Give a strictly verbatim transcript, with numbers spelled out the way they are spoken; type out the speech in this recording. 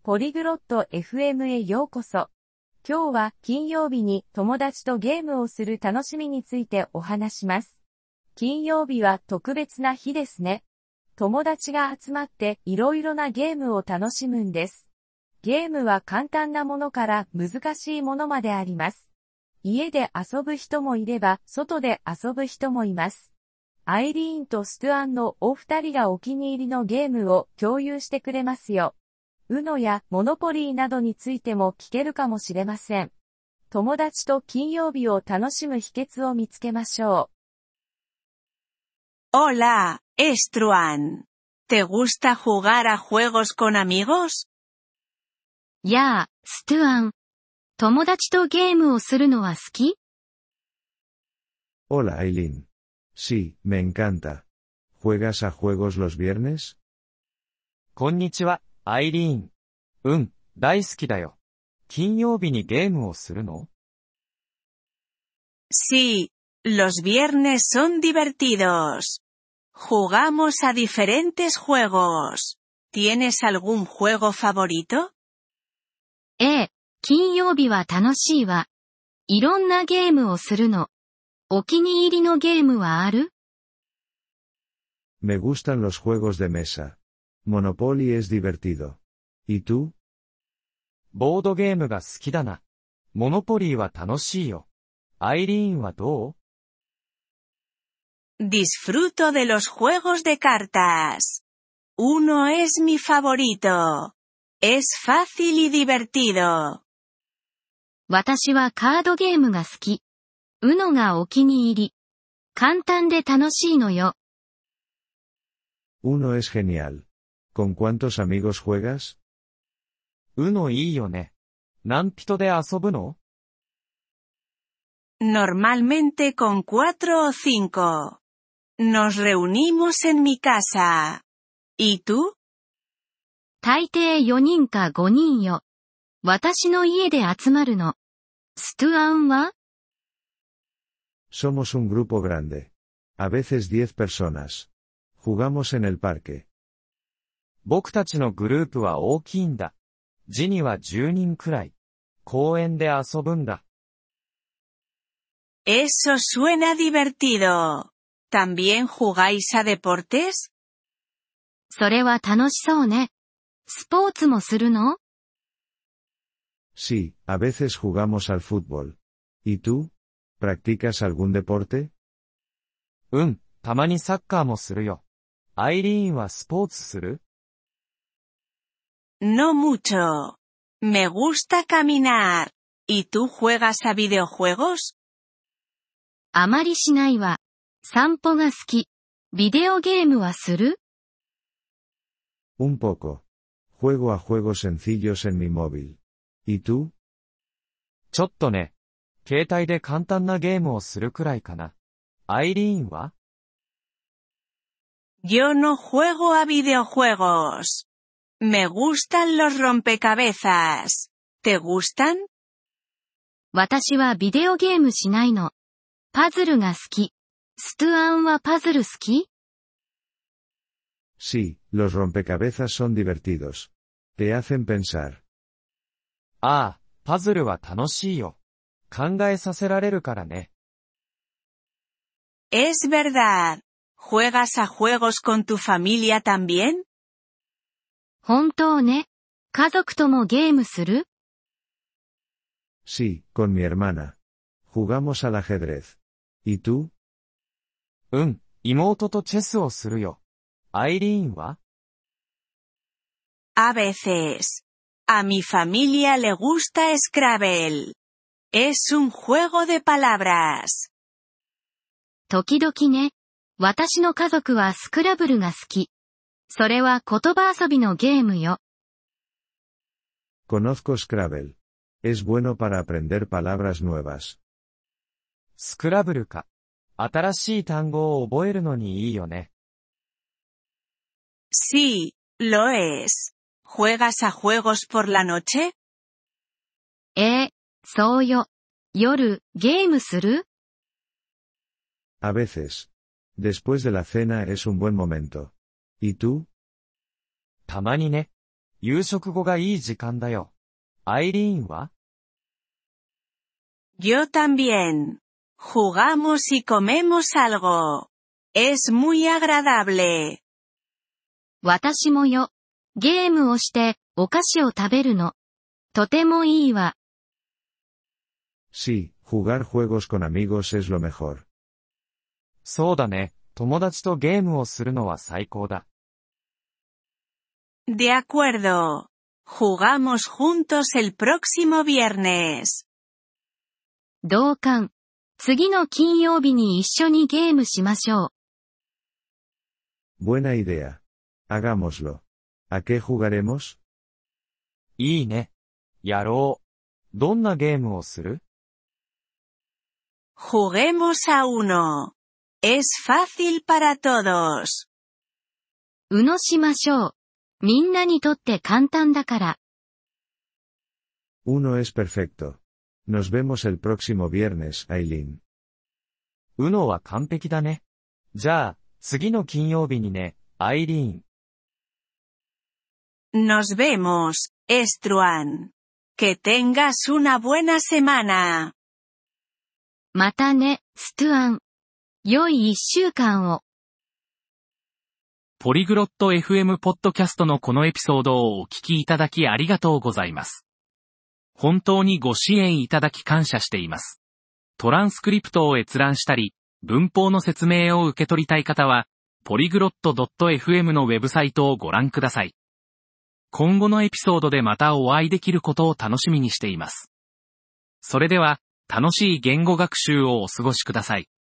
ポリグロット エフエム へようこそ。今日は金曜日に友達とゲームをする楽しみについてお話します。金曜日は特別な日ですね。友達が集まっていろいろなゲームを楽しむんです。ゲームは簡単なものから難しいものまであります。家で遊ぶ人もいれば外で遊ぶ人もいます。アイリーンとストゥアンのお二人がお気に入りのゲームを共有してくれますよ。ウノやモノポリーなどについても聞けるかもしれません。友達と金曜日を楽しむ秘訣を見つけましょう。Hola, Struan. ¿Te gusta jugar a juegos con amigos? やあ、ストゥアン。友達とゲームをするのは好き？ Hola, Aileen. Sí, me encanta. ¿Juegas a juegos los viernes? こんにちは、アイリーン。うん、大好きだよ。金曜日にゲームをするの？ Sí, los viernes son divertidos. Jugamos a diferentes juegos. ¿Tienes algún juego favorito? ええ、金曜日は楽しいわ。いろんなゲームをするの。お気に入りのゲームはある？ Me gustan los juegos de mesa. Monopoly es divertido. ¿Y tú? ボードゲームが好きだな。モノポリーは楽しいよ。アイリーンはどう？ Disfruto de los juegos de cartas. Uno es mi favorito. Es fácil y divertido. 私はカードゲームが好き。ウノがお気に入り。簡単で楽しいのよ。 Uno es genial. ¿Con cuántos amigos juegas? ウノいいよね。何人で遊ぶの？ Normalmente con cuatro o cinco. Nos reunimos en mi casa. ¿Y tú? 大抵よにんかごにんよ。私の家で集まるの。ストゥアンは？ Somos un grupo grande. A veces diez personas. Jugamos en el parque. 僕たちのグループは大きいんだ。時にはじゅうにんくらい。公園で遊ぶんだ。 Eso suena divertido. ¿También jugáis a deportes? それは楽しそうね。スポーツもするの？ Sí, a veces jugamos al fútbol. ¿Y tú? ¿Practicas algún deporte? うん、たまにサッカーもするよ。アイリーンはスポーツする？ No mucho. Me gusta caminar. ¿Y tú juegas a videojuegos? あまりしないわ。散歩が好き。ビデオゲームはする？ Un poco. Juego a juegos sencillos en mi móvil. ¿Y tú? ちょっとね。携帯で簡単なゲームをするくらいかな。アイリーンは？ Yo no juego a videojuegos. Me gustan los rompecabezas. ¿Te gustan? 私はビデオゲームしないの。パズルが好き。ストゥアンはパズル好き？ Sí, los rompecabezas son divertidos. Te hacen pensar. ああ、パズルは楽しいよ。考えさせられるからね。 Es verdad. ¿Juegas a juegos con tu familia también? 本当ね。家族ともゲームする？ Sí, con mi hermana. Jugamos al ajedrez. ¿Y tú? うん、妹とチェスをするよ。アイリーンは？ A veces. A mi familia le gusta Scrabble. Es un juego de palabras. 時々ね。私の家族はスクラブルが好き。それは言葉遊びのゲームよ。 Conozco Scrabble. Es bueno para aprender palabras nuevas. スクラブルか。新しい単語を覚えるのにいいよね。 Sí, lo es. ¿Juegas a juegos por la noche? ええ、そうよ。夜、ゲームする？ A veces. Después de la cena es un buen momento. ¿Y tú? たまにね。 夕食後がいい時間だよ。アイリーンは？ Yo también. Jugamos y comemos algo. Es muy agradable. 私もよ。ゲームをして、お菓子を食べるの。とてもいいわ。 Sí, jugar juegos con amigos es lo mejor. そうだね。友達とゲームをするのは最高だ。 De acuerdo. Jugamos juntos el próximo viernes. 同感。次の金曜日に一緒にゲームしましょう。 Buena idea. Hagámoslo. ¿A qué jugaremos? いいね。やろう。どんなゲームをする？ Juguemos a uno. Es fácil para todos. うのしましょう。みんなにとって簡単だから。 Uno es perfecto. Nos vemos el próximo viernes, Aileen. うのは完璧だね。じゃあ、次の金曜日にね、アイリーン。 Nos vemos, Estruan. Que tengas una buena semana. またね、ストゥアン。良い一週間を。 ポリグロット エフエム ポッドキャストのこのエピソードをお聞きいただきありがとうございます。本当にご支援いただき感謝しています。トランスクリプトを閲覧したり、文法の説明を受け取りたい方は、ポリグロット ドット エフエム のウェブサイトをご覧ください。今後のエピソードでまたお会いできることを楽しみにしています。それでは、楽しい言語学習をお過ごしください。